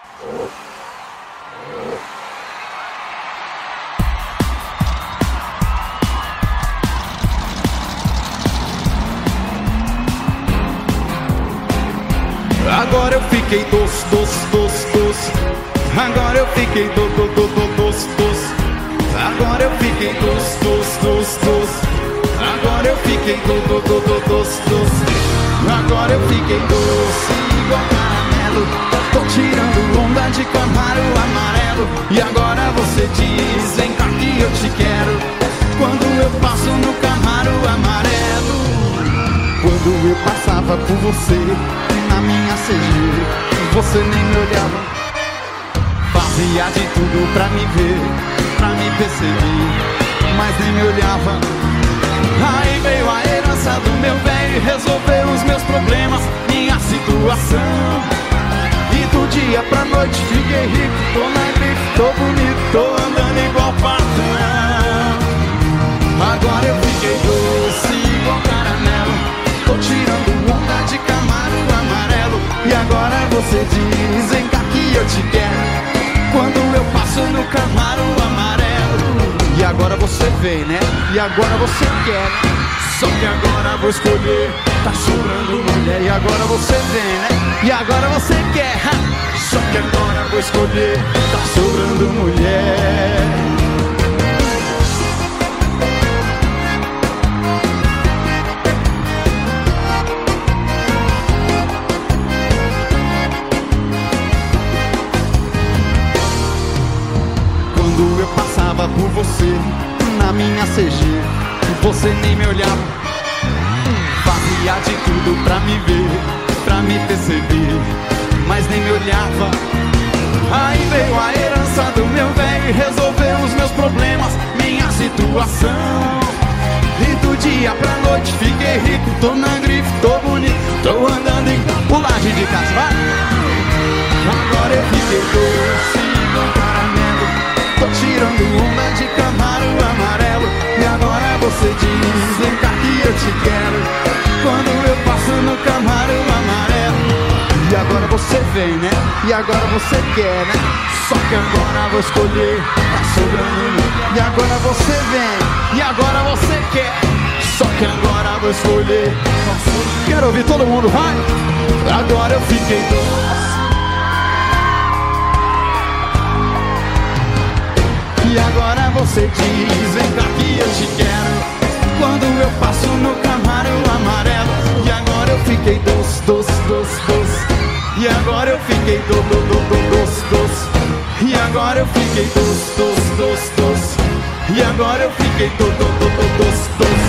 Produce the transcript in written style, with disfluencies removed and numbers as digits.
Agora eu fiquei doce. Agora eu fiquei doce. Agora eu fiquei doce. Agora eu fiquei doce. Agora eu fiquei doce igual caramelo. Tô tirando onda de Camaro amarelo. E agora você diz, vem cá que eu te quero. Quando eu passo no Camaro amarelo. Quando eu passava por você na minha CG, você nem me olhava. Fazia de tudo pra me ver, pra me perceber, mas nem me olhava. Aí veio a herança do meu velho e resolveu os meus problemas, minha situação. E do dia pra noite fiquei rico, tô na grife, tô bonito, tô andando igual patrão. Agora eu fiquei doce igual caramelo. Tô tirando onda de Camaro amarelo. E agora você diz, vem cá que eu te quero. Quando eu passo no Camaro amarelo. E agora você vem, né? E agora você quer. Só que agora vou escolher, tá sobrando mulher. E agora você vem, né? E agora você quer. Só que agora vou escolher, tá sobrando mulher. Quando eu passava por você na minha CG, você nem me olhava. Fazia de tudo pra me ver, pra me perceber, mas nem me olhava. Aí veio a herança do meu velho e resolveu os meus problemas, minha situação. E do dia pra noite fiquei rico, tô na grife, tô bonito, tô andando em pulagem de casa, vai. Agora eu fiquei doce igual caramelo. Tô tirando onda de Camaro amarelo. E agora você diz, vem cá que eu te quero. Quando eu passo no Camaro amarelo. E agora você vem, né? E agora você quer, né? Só que agora vou escolher, tá sobrando. E agora você vem, e agora você quer. Só que agora vou escolher. Quero ouvir todo mundo, vai! Agora eu fiquei doce. E agora você diz, vem cá que eu te quero. Quando eu passo no Camaro amarelo. E agora eu fiquei doce. E agora eu fiquei doce. E agora eu fiquei doce. E agora eu fiquei doce.